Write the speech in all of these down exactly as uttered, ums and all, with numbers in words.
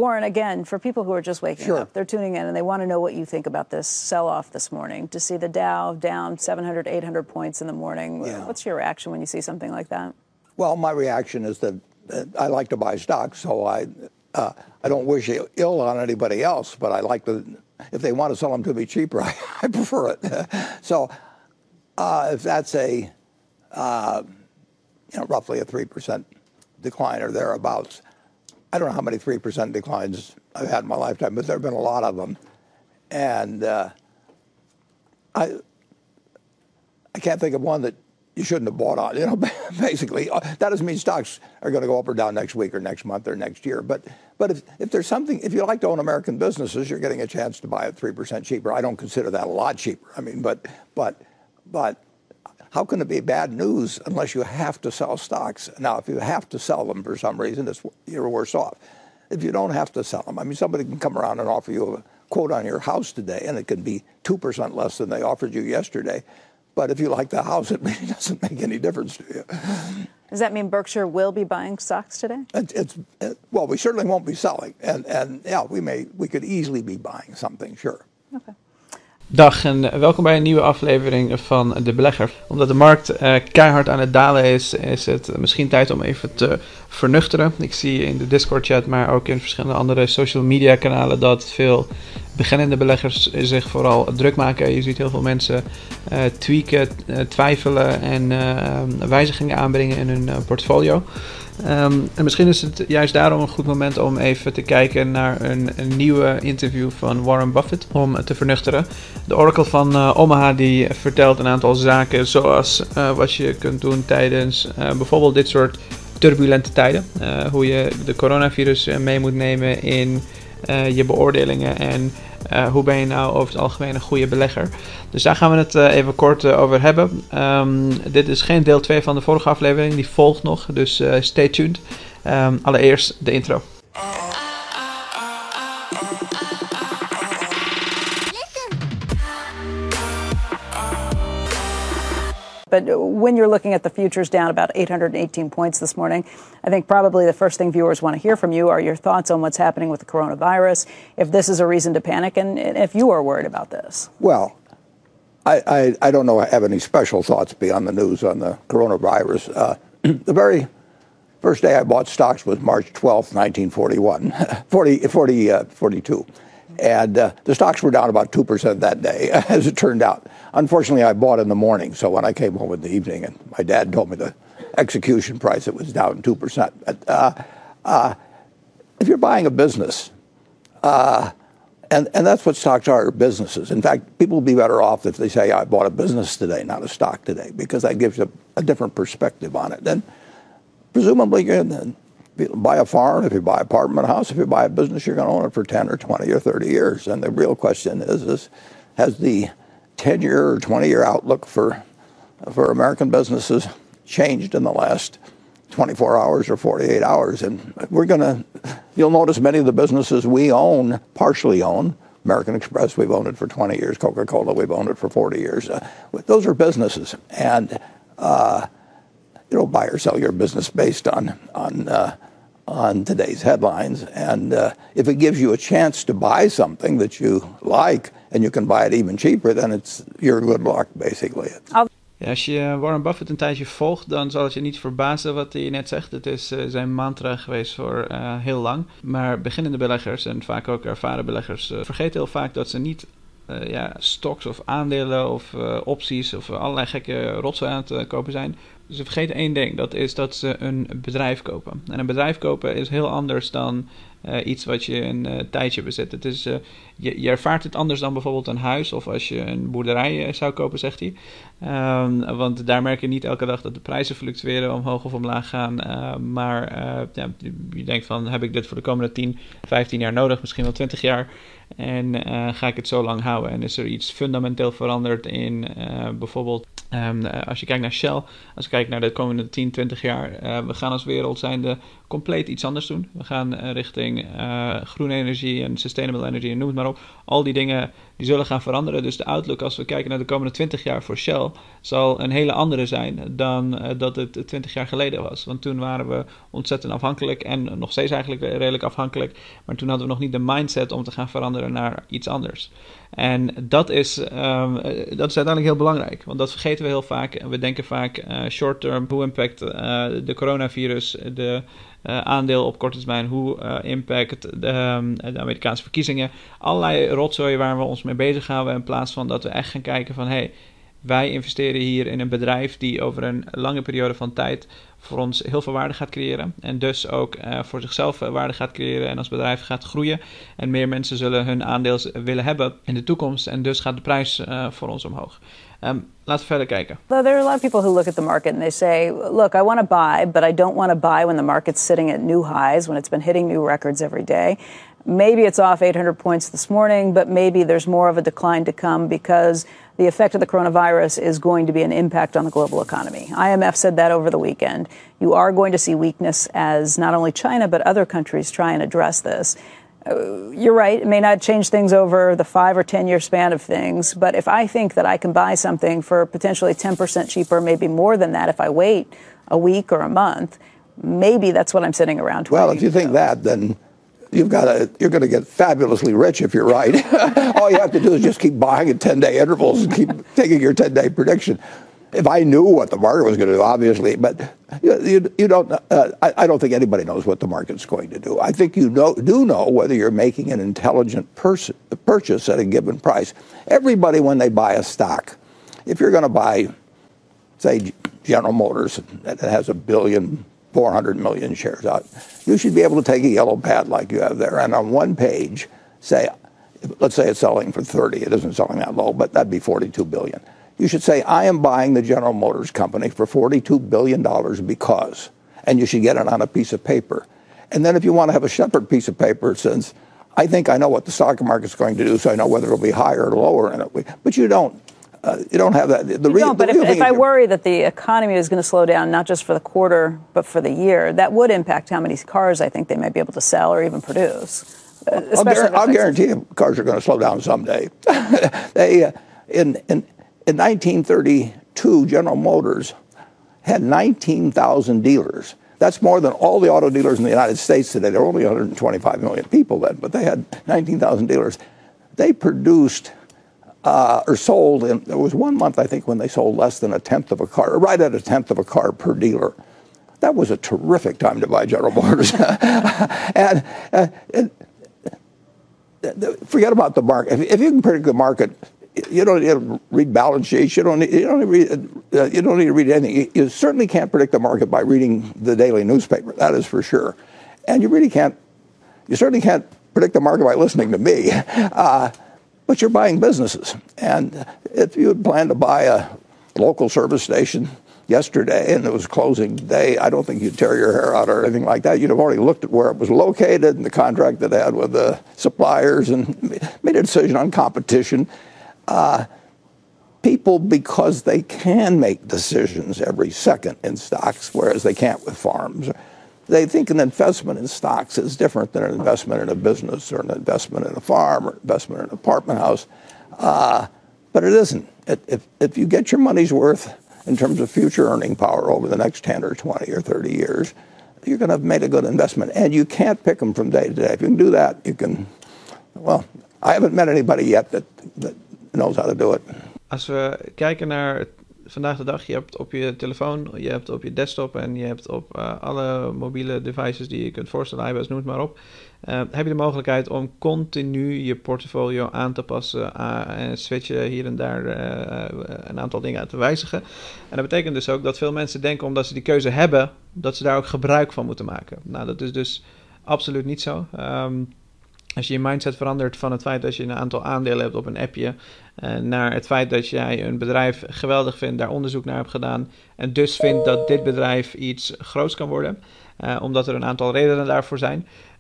Warren, again, for people who are just waking sure. up, they're tuning in and they want to know what you think about this sell-off this morning. To see the Dow down seven hundred, eight hundred points in the morning, yeah. what's your reaction when you see something like that? Well, my reaction is that uh, I like to buy stocks, so I uh, I don't wish ill on anybody else, but I like to, if they want to sell them to me cheaper, I, I prefer it. So uh, if that's a, uh, you know, roughly a three percent decline or thereabouts, I don't know how many three percent declines I've had in my lifetime, but there have been a lot of them. And uh, I I can't think of one that you shouldn't have bought on. You know, basically, that doesn't mean stocks are going to go up or down next week or next month or next year. But but if, if there's something, if you like to own American businesses, you're getting a chance to buy it three percent cheaper. I don't consider that a lot cheaper. I mean, but but but how can it be bad news unless you have to sell stocks? Now, if you have to sell them for some reason, it's, you're worse off. If you don't have to sell them, I mean, somebody can come around and offer you a quote on your house today, and it can be two percent less than they offered you yesterday. But if you like the house, it really doesn't make any difference to you. Does that mean Berkshire will be buying stocks today? It, it's it, well, we certainly won't be selling, and and yeah, we may we could easily be buying something, sure. Okay. Dag en welkom bij een nieuwe aflevering van De Belegger. Omdat de markt uh, keihard aan het dalen is, is het misschien tijd om even te vernuchteren. Ik zie in de Discord-chat, maar ook in verschillende andere social media kanalen dat veel beginnende beleggers zich vooral druk maken. Je ziet heel veel mensen uh, tweaken, uh, twijfelen en uh, wijzigingen aanbrengen in hun uh, portfolio. Um, en misschien is het juist daarom een goed moment om even te kijken naar een, een nieuwe interview van Warren Buffett om te vernuchteren. De Oracle van uh, Omaha die vertelt een aantal zaken zoals uh, wat je kunt doen tijdens uh, bijvoorbeeld dit soort turbulente tijden. Uh, hoe je de coronavirus uh, mee moet nemen in uh, je beoordelingen en uh, hoe ben je nou over het algemeen een goede belegger. Dus daar gaan we het uh, even kort uh, over hebben. Um, dit is geen deel twee van de vorige aflevering, die volgt nog, dus uh, stay tuned. Um, allereerst de intro. But when you're looking at the futures down about eight hundred eighteen points this morning, I think probably the first thing viewers want to hear from you are your thoughts on what's happening with the coronavirus, if this is a reason to panic, and if you are worried about this. Well, I, I, I don't know I have any special thoughts beyond the news on the coronavirus. Uh, the very first day I bought stocks was March twelfth, nineteen forty-one, forty, forty, uh, forty-two. And uh, the stocks were down about two percent that day, as it turned out. Unfortunately, I bought in the morning, so when I came home in the evening, and my dad told me the execution price, it was down two percent. But, uh, uh, if you're buying a business, uh, and, and that's what stocks are, businesses. In fact, people will be better off if they say, I bought a business today, not a stock today, because that gives you a, a different perspective on it. And presumably, you're in, if you buy a farm, if you buy an apartment house, if you buy a business, you're going to own it for ten or twenty or thirty years. And the real question is, is has the ten-year or twenty-year outlook for for American businesses changed in the last twenty-four hours or forty-eight hours? And we're going to, you'll notice many of the businesses we own, partially own, American Express, we've owned it for twenty years. Coca-Cola, we've owned it for forty years. Uh, those are businesses. And uh, you don't buy or sell your business based on on uh, on today's headlines. And uh, if it gives you a chance to buy something that you like and you can buy it even cheaper, then it's your good luck, basically. Ja, als je Warren Buffett een tijdje volgt, dan zal het je niet verbazen wat hij net zegt. Het is uh, zijn mantra geweest voor uh, heel lang. Maar beginnende beleggers en vaak ook ervaren beleggers uh, vergeten heel vaak dat ze niet uh, ja, stocks of aandelen of uh, opties of allerlei gekke rotsen aan het uh, kopen zijn. Ze vergeten één ding, dat is dat ze een bedrijf kopen. En een bedrijf kopen is heel anders dan uh, iets wat je een uh, tijdje bezit. Het is, uh, je, je ervaart het anders dan bijvoorbeeld een huis of als je een boerderij uh, zou kopen, zegt hij. Um, want daar merk je niet elke dag dat de prijzen fluctueren, omhoog of omlaag gaan. Uh, maar uh, ja, je denkt van, heb ik dit voor de komende tien, vijftien jaar nodig, misschien wel twintig jaar? En uh, ga ik het zo lang houden? En is er iets fundamenteel veranderd in uh, bijvoorbeeld, um, als je kijkt naar Shell, als je kijkt naar de komende tien, twintig jaar, uh, we gaan als wereld zijnde compleet iets anders doen. We gaan uh, richting uh, groene energie en sustainable energy en noem het maar op. Al die dingen die die zullen gaan veranderen. Dus de outlook als we kijken naar de komende twintig jaar voor Shell zal een hele andere zijn dan uh, dat het twintig jaar geleden was. Want toen waren we ontzettend afhankelijk en nog steeds eigenlijk redelijk afhankelijk. Maar toen hadden we nog niet de mindset om te gaan veranderen naar iets anders. En dat is, um, dat is uiteindelijk heel belangrijk, want dat vergeten we heel vaak. We denken vaak uh, short-term, hoe impact uh, de coronavirus de uh, aandeel op korte termijn, hoe uh, impact de, um, de Amerikaanse verkiezingen. Allerlei rotzooi waar we ons mee bezighouden in plaats van dat we echt gaan kijken van hey, wij investeren hier in een bedrijf die over een lange periode van tijd voor ons heel veel waarde gaat creëren. En dus ook uh, voor zichzelf waarde gaat creëren en als bedrijf gaat groeien. En meer mensen zullen hun aandeel willen hebben in de toekomst. En dus gaat de prijs uh, voor ons omhoog. Um, laten we verder kijken. There are a lot of people who look at the market and they say, look, I want to buy, but I don't want to buy when the market's sitting at new highs, when it's been hitting new records every day. Maybe it's off eight hundred points this morning, but maybe there's more of a decline to come because the effect of the coronavirus is going to be an impact on the global economy. I M F said that over the weekend. You are going to see weakness as not only China, but other countries try and address this. Uh, you're right, it may not change things over the five or ten year span of things, but if I think that I can buy something for potentially ten percent cheaper, maybe more than that if I wait a week or a month, maybe that's what I'm sitting around. Well, if you think that, then You've got to, you're going to get fabulously rich if you're right. All you have to do is just keep buying at ten-day intervals and keep taking your ten-day prediction. If I knew what the market was going to do, obviously, but you, you, you don't. Uh, I, I don't think anybody knows what the market's going to do. I think you know, do know whether you're making an intelligent pers- purchase at a given price. Everybody, when they buy a stock, if you're going to buy, say, General Motors that has a billion. four hundred million shares out. You should be able to take a yellow pad like you have there and on one page say, let's say it's selling for thirty. It isn't selling that low, but that'd be forty-two billion. You should say, I am buying the General Motors company for forty-two billion dollars because, and you should get it on a piece of paper. And then if you want to have a separate piece of paper, it says, I think I know what the stock market's going to do, so I know whether it'll be higher or lower in it. But you don't. Uh, you don't have that. The you re- don't, but the if, if I worry that the economy is going to slow down, not just for the quarter, but for the year, that would impact how many cars I think they might be able to sell or even produce. Uh, I'll, gar- I'll guarantee you cars are going to slow down someday. they, uh, in, in, in nineteen thirty-two, General Motors had nineteen thousand dealers. That's more than all the auto dealers in the United States today. There were only one hundred twenty-five million people then, but they had nineteen thousand dealers. They produced... Uh, or sold, and there was one month, I think, when they sold less than a tenth of a car, or right at a tenth of a car per dealer. That was a terrific time to buy General Motors. and, uh, and forget about the market. If, if you can predict the market, you don't need to read balance sheets. You don't need, you don't need, read, uh, you don't need to read anything. You, you certainly can't predict the market by reading the daily newspaper. That is for sure. And you really can't, you certainly can't predict the market by listening to me. Uh, But you're buying businesses. And if you had planned to buy a local service station yesterday and it was closing day, I don't think you'd tear your hair out or anything like that. You'd have already looked at where it was located and the contract it had with the suppliers and made a decision on competition. Uh, people, because they can make decisions every second in stocks, whereas they can't with farms, they think an investment in stocks is different than an investment in a business or an investment in a farm or investment in an apartment house. Uh, but it isn't. It, if, if you get your money's worth in terms of future earning power over the next ten or twenty or thirty years, you're going to have made a good investment. And you can't pick them from day to day. If you can do that, you can, well, I haven't met anybody yet that, that knows how to do it. Als we kijken naar vandaag de dag, je hebt op je telefoon, je hebt op je desktop en je hebt op uh, alle mobiele devices die je kunt voorstellen, iOS, noem het maar op, uh, heb je de mogelijkheid om continu je portfolio aan te passen uh, en switchen hier en daar uh, een aantal dingen aan te wijzigen. En dat betekent dus ook dat veel mensen denken, omdat ze die keuze hebben, dat ze daar ook gebruik van moeten maken. Nou, dat is dus absoluut niet zo. Um, Als je je mindset verandert van het feit dat je een aantal aandelen hebt op een appje, uh, naar het feit dat jij een bedrijf geweldig vindt, daar onderzoek naar hebt gedaan en dus vindt dat dit bedrijf iets groots kan worden, uh, omdat er een aantal redenen daarvoor zijn,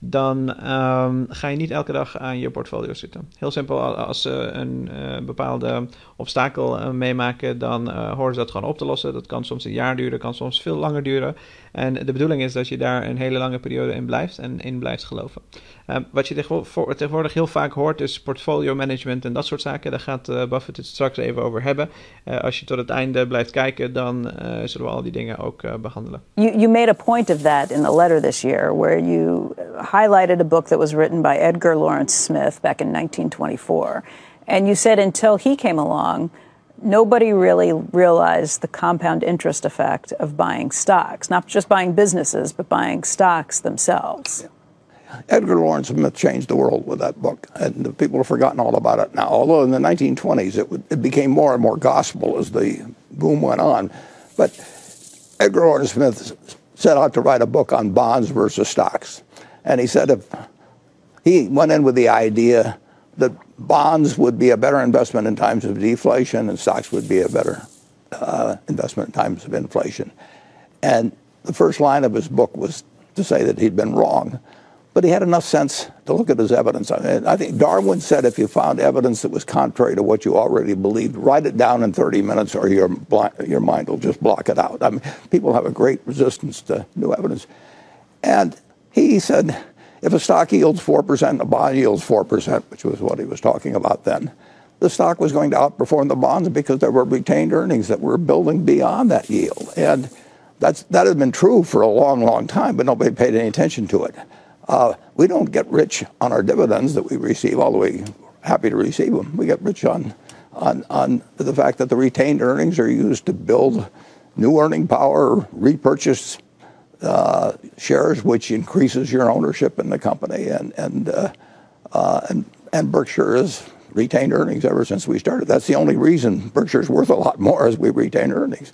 dan um, ga je niet elke dag aan je portfolio zitten. Heel simpel, als ze een uh, bepaalde obstakel uh, meemaken, dan uh, horen ze dat gewoon op te lossen. Dat kan soms een jaar duren, kan soms veel langer duren. En de bedoeling is dat je daar een hele lange periode in blijft en in blijft geloven. Uh, wat je tegenwoordig heel vaak hoort is portfolio management en dat soort zaken. Daar gaat uh, Buffett het straks even over hebben. Uh, als je tot het einde blijft kijken, dan uh, zullen we al die dingen ook uh, behandelen. You, you made a point of that in the letter this year, where you highlighted a book that was written by Edgar Lawrence Smith back in nineteen twenty-four. And you said until he came along, nobody really realized the compound interest effect of buying stocks, not just buying businesses, but buying stocks themselves. Yeah. Edgar Lawrence Smith changed the world with that book, and the people have forgotten all about it now. Although in the nineteen twenties, it, would, it became more and more gospel as the boom went on. But Edgar Lawrence Smith set out to write a book on bonds versus stocks. And he said if he went in with the idea that bonds would be a better investment in times of deflation and stocks would be a better uh, investment in times of inflation. And the first line of his book was to say that he'd been wrong. But he had enough sense to look at his evidence. I mean, I think Darwin said if you found evidence that was contrary to what you already believed, write it down in thirty minutes or your, your mind will just block it out. I mean, people have a great resistance to new evidence. And he said, if a stock yields four percent and a bond yields four percent, which was what he was talking about then, the stock was going to outperform the bonds because there were retained earnings that were building beyond that yield. And that's, that had been true for a long, long time, but nobody paid any attention to it. Uh, we don't get rich on our dividends that we receive, although we're happy to receive them. We get rich on, on, on the fact that the retained earnings are used to build new earning power, repurchase uh, shares, which increases your ownership in the company. And, and, uh, uh, and, and Berkshire has retained earnings ever since we started. That's the only reason Berkshire's worth a lot more is we retain earnings.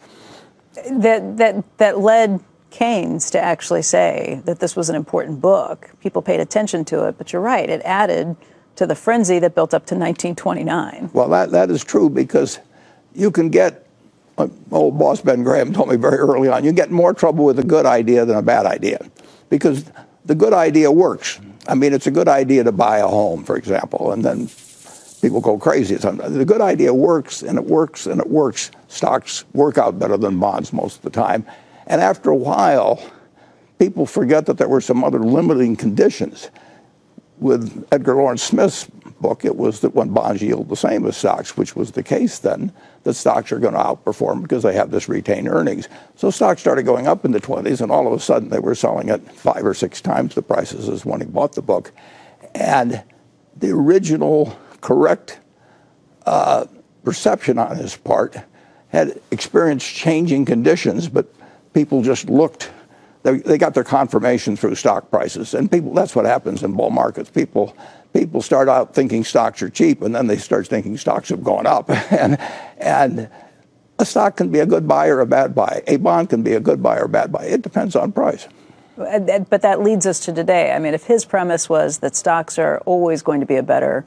That, that, that led Keynes to actually say that this was an important book. People paid attention to it, but you're right, it added to the frenzy that built up to nineteen twenty-nine. Well, that, that is true because you can get, my old boss Ben Graham told me very early on, you get more trouble with a good idea than a bad idea because the good idea works. I mean, it's a good idea to buy a home, for example, and then people go crazy sometimes. The good idea works, and it works, and it works. Stocks work out better than bonds most of the time. And after a while, people forget that there were some other limiting conditions. With Edgar Lawrence Smith's book, it was that when bonds yield the same as stocks, which was the case then, that stocks are going to outperform because they have this retained earnings. So stocks started going up in the twenties, and all of a sudden they were selling at five or six times the prices as when he bought the book. And the original correct uh, perception on his part had experienced changing conditions, but people just looked, they, they got their confirmation through stock prices. And people, that's what happens in bull markets. People people start out thinking stocks are cheap, and then they start thinking stocks have gone up. and and a stock can be a good buy or a bad buy. A bond can be a good buy or a bad buy. It depends on price. But that leads us to today. I mean, if his premise was that stocks are always going to be a better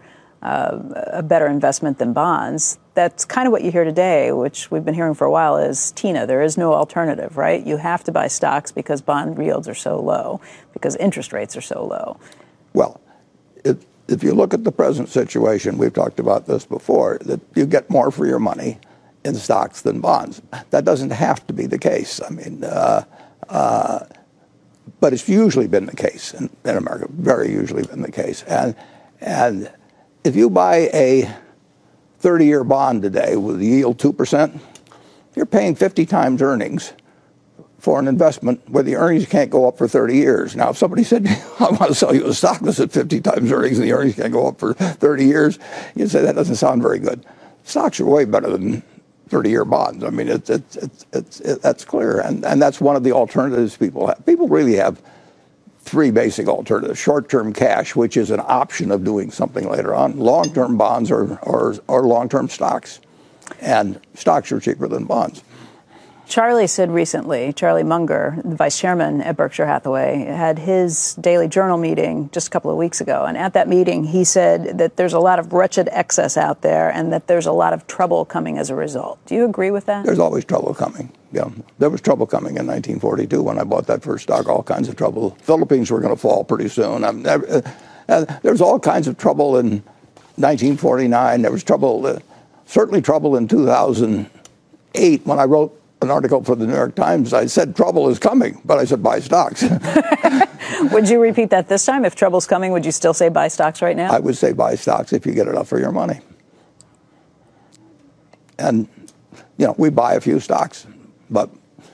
Uh, a better investment than bonds, that's kind of what you hear today, which we've been hearing for a while, is Tina, there is no alternative, right? You have to buy stocks because bond yields are so low, because interest rates are so low. Well, if, if you look at the present situation, we've talked about this before, that you get more for your money in stocks than bonds. That doesn't have to be the case. I mean, uh, uh, but it's usually been the case in, in America, very usually been the case. And, and if you buy a thirty-year bond today with a yield two percent, you're paying fifty times earnings for an investment where the earnings can't go up for thirty years. Now, if somebody said, I want to sell you a stock that's at fifty times earnings and the earnings can't go up for thirty years, you'd say that doesn't sound very good. Stocks are way better than thirty-year bonds. I mean, it's, it's, it's, it's, it, that's clear. And, and that's one of the alternatives people have. People really have three basic alternatives. Short-term cash, which is an option of doing something later on. Long-term bonds or, or, or long-term stocks. And stocks are cheaper than bonds. Charlie said recently, Charlie Munger, the vice chairman at Berkshire Hathaway, had his daily journal meeting just a couple of weeks ago. And at that meeting, he said that there's a lot of wretched excess out there and that there's a lot of trouble coming as a result. Do you agree with that? There's always trouble coming. You know, there was trouble coming in nineteen forty-two when I bought that first stock. All kinds of trouble. Philippines were going to fall pretty soon. I mean, uh, uh, there was all kinds of trouble in nineteen forty-nine. There was trouble, uh, certainly trouble in two thousand eight when I wrote an article for the New York Times. I said trouble is coming, but I said buy stocks. Would you repeat that this time? If trouble's coming, would you still say buy stocks right now? I would say buy stocks if you get enough for your money. And, you know, we buy a few stocks, but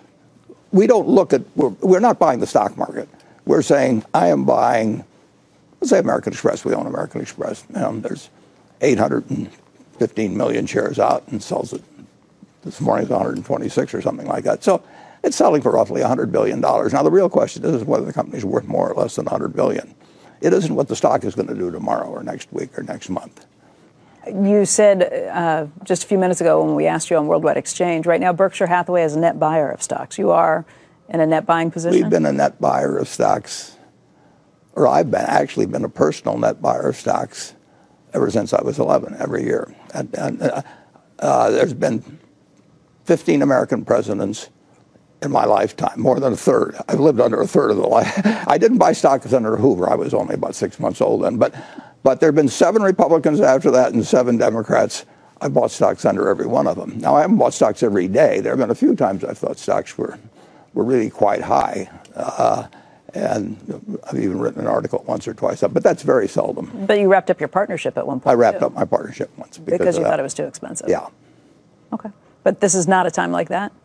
we don't look at, we're, we're not buying the stock market. We're saying, I am buying, let's say American Express. We own American Express. You know, there's eight hundred fifteen million shares out and sells it. This morning's one hundred twenty-six or something like that. So it's selling for roughly one hundred billion dollars. Now, the real question is whether the company's worth more or less than one hundred billion dollars. It isn't what the stock is going to do tomorrow or next week or next month. You said uh, just a few minutes ago when we asked you on Worldwide Exchange, right now Berkshire Hathaway is a net buyer of stocks. You are in a net buying position? We've been a net buyer of stocks, or I've been actually been a personal net buyer of stocks ever since I was eleven, every year. And, and uh, uh, there's been fifteen American presidents in my lifetime, more than a third. I've lived under a third of the life. I didn't buy stocks under Hoover. I was only about six months old then. But, but there have been seven Republicans after that and seven Democrats. I bought stocks under every one of them. Now, I haven't bought stocks every day. There have been a few times I thought stocks were, were really quite high. Uh, and I've even written an article once or twice, but that's very seldom. But you wrapped up your partnership at one point, I wrapped too. up my partnership once. Because, because you of thought that. it was too expensive? Yeah. Okay. But this is not a time like that?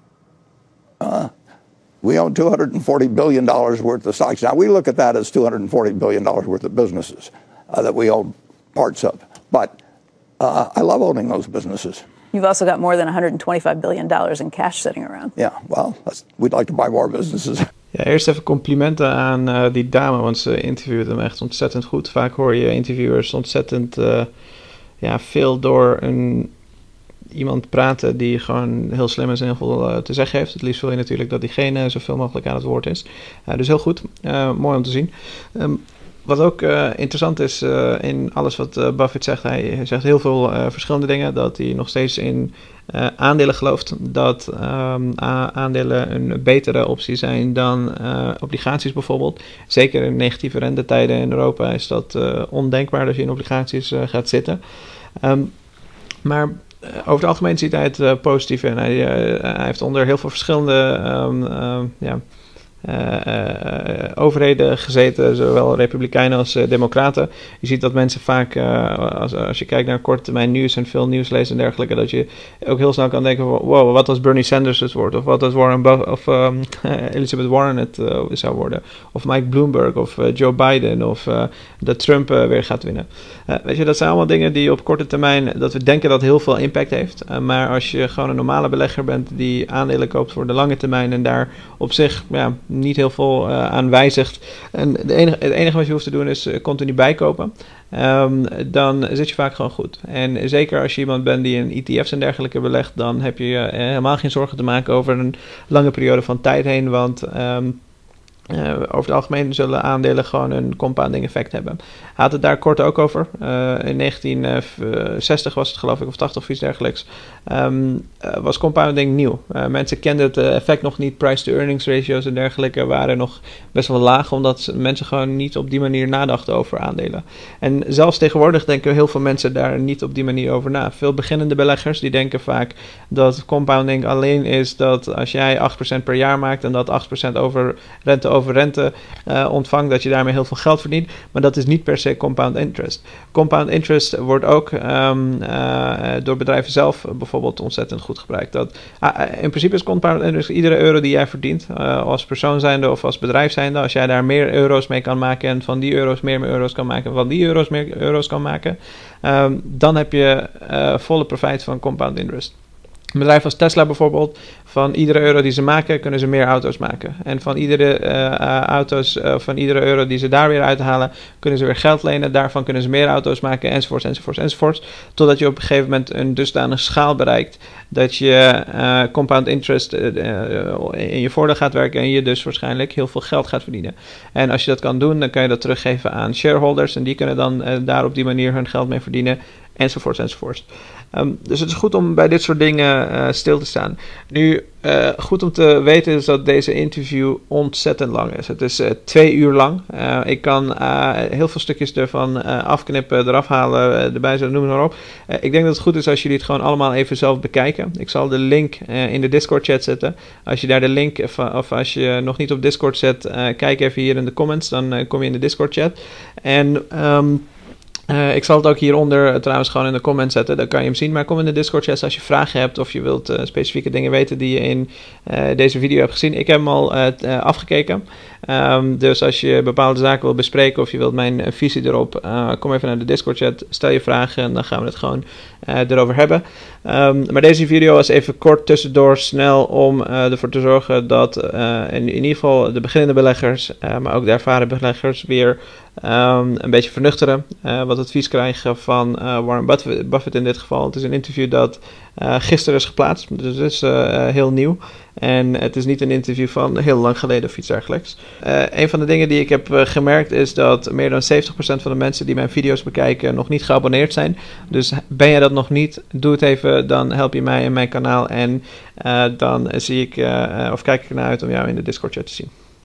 Uh, we own two hundred forty billion dollars worth of stocks. Now, we look at that as two hundred forty billion dollars worth of businesses uh, that we own parts of. But uh, I love owning those businesses. You've also got more than one hundred twenty-five billion dollars in cash sitting around. Yeah, well, that's, we'd like to buy more businesses. Ja, eerst even complimenten aan uh, die dame, want ze interviewde hem echt ontzettend goed. Vaak hoor je interviewers ontzettend uh, ja, veel door een... iemand praten die gewoon heel slim is en heel veel uh, te zeggen heeft. Het liefst wil je natuurlijk dat diegene zoveel mogelijk aan het woord is. Uh, dus heel goed. Uh, mooi om te zien. Um, wat ook uh, interessant is uh, in alles wat uh, Buffett zegt. Hij zegt heel veel uh, verschillende dingen. Dat hij nog steeds in uh, aandelen gelooft. Dat um, aandelen een betere optie zijn dan uh, obligaties bijvoorbeeld. Zeker in negatieve rentetijden in Europa is dat uh, ondenkbaar dat je in obligaties uh, gaat zitten. Um, maar... over het algemeen ziet hij het uh, positief in. Hij, uh, hij heeft onder heel veel verschillende um, uh, ja, uh, uh, overheden gezeten, zowel republikeinen als uh, democraten. Je ziet dat mensen vaak, uh, als, als je kijkt naar korte termijn nieuws en veel nieuws leest en dergelijke, dat je ook heel snel kan denken, wow, wat als Bernie Sanders het wordt? Of wat als Warren Buff- of um, Elizabeth Warren het uh, zou worden? Of Mike Bloomberg of uh, Joe Biden of uh, dat Trump uh, weer gaat winnen. Uh, weet je, dat zijn allemaal dingen die op korte termijn, dat we denken dat heel veel impact heeft. Uh, maar als je gewoon een normale belegger bent die aandelen koopt voor de lange termijn en daar op zich ja, niet heel veel uh, aan wijzigt. En de enige, het enige wat je hoeft te doen is uh, continu bijkopen. Um, dan zit je vaak gewoon goed. En zeker als je iemand bent die in E T F's en dergelijke belegt, dan heb je uh, helemaal geen zorgen te maken over een lange periode van tijd heen. Want um, Uh, over het algemeen zullen aandelen gewoon een compounding effect hebben. Hij had het daar kort ook over. Uh, in negentien zestig was het geloof ik, of tachtig of iets dergelijks. Um, uh, was compounding nieuw. Uh, mensen kenden het uh, effect nog niet. Price-to-earnings ratios en dergelijke waren nog best wel laag, omdat mensen gewoon niet op die manier nadachten over aandelen. En zelfs tegenwoordig denken heel veel mensen daar niet op die manier over na. Veel beginnende beleggers die denken vaak dat compounding alleen is dat als jij acht procent per jaar maakt en dat acht procent over rente over rente uh, ontvangt, dat je daarmee heel veel geld verdient. Maar dat is niet per se compound interest. Compound interest wordt ook um, uh, door bedrijven zelf bijvoorbeeld ontzettend goed gebruikt. Dat, uh, in principe is compound interest iedere euro die jij verdient, uh, als persoon zijnde of als bedrijf zijnde, als jij daar meer euro's mee kan maken en van die euro's meer, meer euro's kan maken en van die euro's meer euro's kan maken, um, dan heb je uh, volle profijt van compound interest. Een bedrijf als Tesla bijvoorbeeld, van iedere euro die ze maken, kunnen ze meer auto's maken. En van iedere uh, uh, auto's, uh, van iedere euro die ze daar weer uithalen, kunnen ze weer geld lenen. Daarvan kunnen ze meer auto's maken, enzovoorts, enzovoorts, enzovoorts. Totdat je op een gegeven moment een dusdanig schaal bereikt dat je uh, compound interest uh, uh, in je voordeel gaat werken en je dus waarschijnlijk heel veel geld gaat verdienen. En als je dat kan doen, dan kan je dat teruggeven aan shareholders en die kunnen dan uh, daar op die manier hun geld mee verdienen. enzovoorts enzovoorts. Um, dus het is goed om bij dit soort dingen uh, stil te staan. Nu, uh, goed om te weten is dat deze interview ontzettend lang is. Het is uh, twee uur lang. Uh, ik kan uh, heel veel stukjes ervan uh, afknippen, eraf halen, uh, erbij zetten, noem maar op. Uh, ik denk dat het goed is als jullie het gewoon allemaal even zelf bekijken. Ik zal de link uh, in de Discord chat zetten. Als je daar de link, of, of als je nog niet op Discord zet, uh, kijk even hier in de comments, dan uh, kom je in de Discord chat. En Um, Uh, ik zal het ook hieronder uh, trouwens gewoon in de comments zetten, dan kan je hem zien. Maar kom in de Discord chat als je vragen hebt of je wilt uh, specifieke dingen weten die je in uh, deze video hebt gezien. Ik heb hem al uh, t, uh, afgekeken. Um, dus als je bepaalde zaken wilt bespreken of je wilt mijn uh, visie erop, uh, kom even naar de Discord chat, stel je vragen en dan gaan we het gewoon uh, erover hebben. Um, maar deze video was even kort tussendoor snel om uh, ervoor te zorgen dat uh, in, in ieder geval de beginnende beleggers, uh, maar ook de ervaren beleggers weer Um, een beetje vernuchteren, uh, wat advies krijgen van uh, Warren Buffett, Buffett in dit geval. Het is een interview dat uh, gisteren is geplaatst, dus het is uh, heel nieuw. En het is niet een interview van heel lang geleden of iets dergelijks. Uh, een van de dingen die ik heb uh, gemerkt is dat meer dan zeventig procent van de mensen die mijn video's bekijken nog niet geabonneerd zijn. Dus ben je dat nog niet, doe het even, dan help je mij en mijn kanaal. En uh, dan zie ik, uh, of kijk ik ernaar uit om jou in de Discord chat te zien.